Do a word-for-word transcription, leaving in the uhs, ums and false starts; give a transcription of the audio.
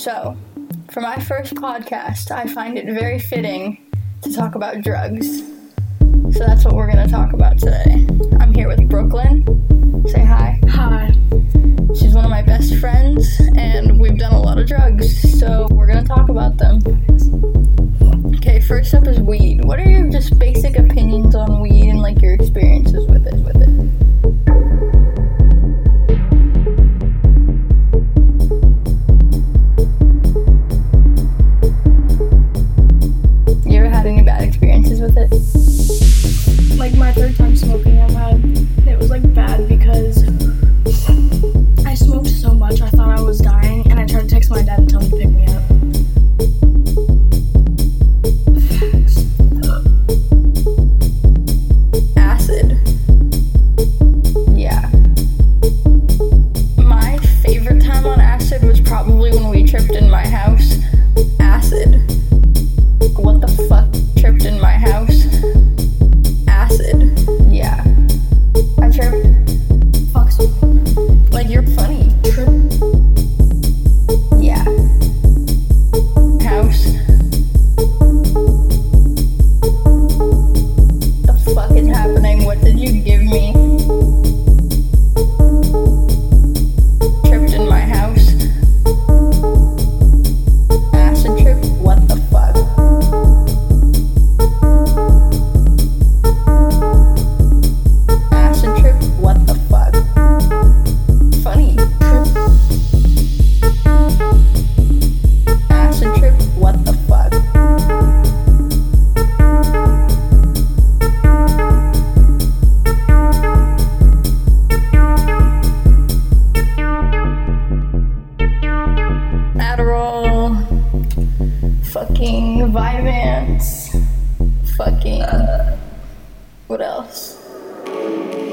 So, for my first podcast, I find it very fitting to talk about drugs. So that's what we're going to talk about today. I'm here with Brooklyn. Say hi. Hi. She's one of my best friends, and we've done a lot of drugs, so we're going to talk about them. Okay, first up is weed. What are your just basic opinions on weed and, like, your experiences with it? With it? You ever had any bad experiences with it? Like my third time smoking I've had, it was like bad because I smoked so much I thought I was dying, and I tried to text my dad and tell him to pick me up. Acid. Yeah. My favorite time on acid was probably when we tripped in my house. Acid. What the fuck? Tripped in my house? Acid. Yeah. I tripped. Fuck. Like, you're funny. Trip. Yeah. House. The fuck is happening? What did you give me? Tripped in my house. Acid trip? What the fuck? Acid trip? What the fuck? Funny. Trip. Acid trip? What the fuck? Adderall, fucking Vyvanse, fucking, uh, what else?